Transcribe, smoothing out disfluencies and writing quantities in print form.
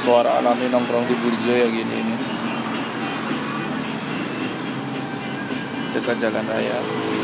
suara alami nongkrong di Burjo ya gini ini, dekat jalan raya.